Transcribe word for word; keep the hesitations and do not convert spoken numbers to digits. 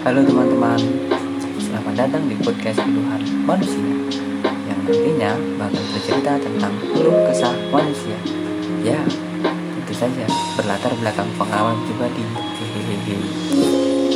Halo teman-teman, selamat datang di podcast Keluhan Manusia yang nantinya bakal bercerita tentang keluh kesah manusia. Ya, tentu saja berlatar belakang pengalaman pribadi. Hehehe.